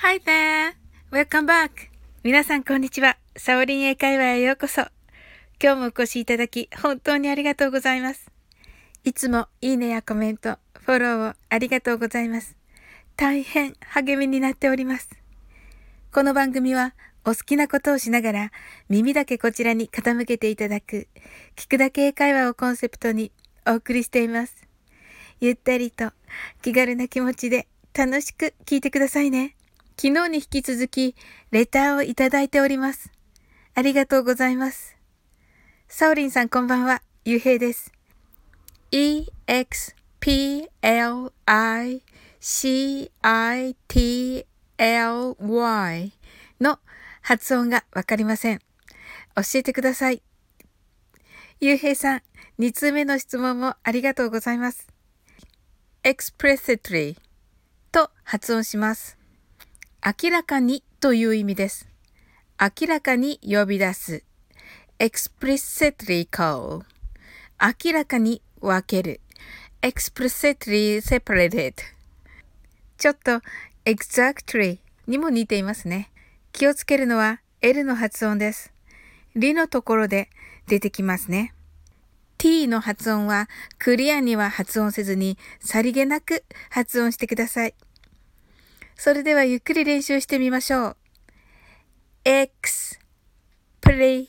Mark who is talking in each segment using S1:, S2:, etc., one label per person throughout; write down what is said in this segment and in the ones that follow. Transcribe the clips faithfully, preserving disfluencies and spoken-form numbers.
S1: Hi there! Welcome back! 皆さんこんにちは。サオリン英会話へようこそ。今日もお越しいただき本当にありがとうございます。いつもいいねやコメント、フォローをありがとうございます。大変励みになっております。この番組はお好きなことをしながら耳だけこちらに傾けていただく聞くだけ英会話をコンセプトにお送りしています。ゆったりと気軽な気持ちで楽しく聞いてくださいね。昨日に引き続きレターをいただいております。ありがとうございます。サオリンさんこんばんは、ゆうへいです。エクスプレシティの発音がわかりません。教えてください。ゆうへいさん、に通目の質問もありがとうございます。explicitly と発音します。明らかにという意味です。明らかに呼び出す。explicitly call。明らかに分ける。explicitly separated。ちょっと exactly にも似ていますね。気をつけるのは L の発音です。リのところで出てきますね。t の発音はクリアには発音せずにさりげなく発音してください。それではゆっくり練習してみましょう。explicitly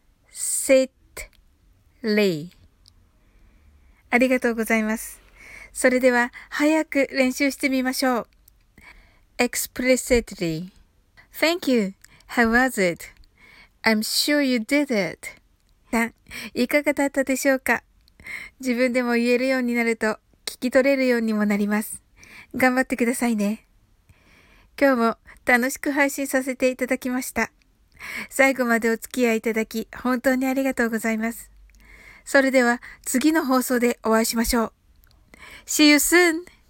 S1: ありがとうございます。それでは早く練習してみましょう。explicitly Thank you. How was it? I'm sure you did it. さん、いかがだったでしょうか？自分でも言えるようになると聞き取れるようにもなります。頑張ってくださいね。今日も楽しく配信させていただきました。最後までお付き合いいただき本当にありがとうございます。それでは次の放送でお会いしましょう。See you soon!